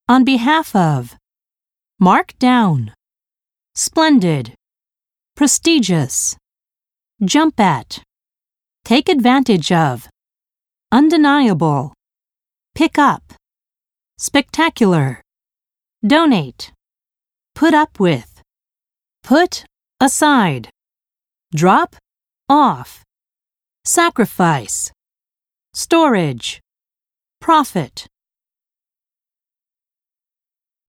On behalf of. Mark down. Splendid. Prestigious. Jump at. Take advantage of. Undeniable. Pick up. Spectacular. Donate. Put up with. Put aside. Drop off. Sacrifice. Storage. Profit.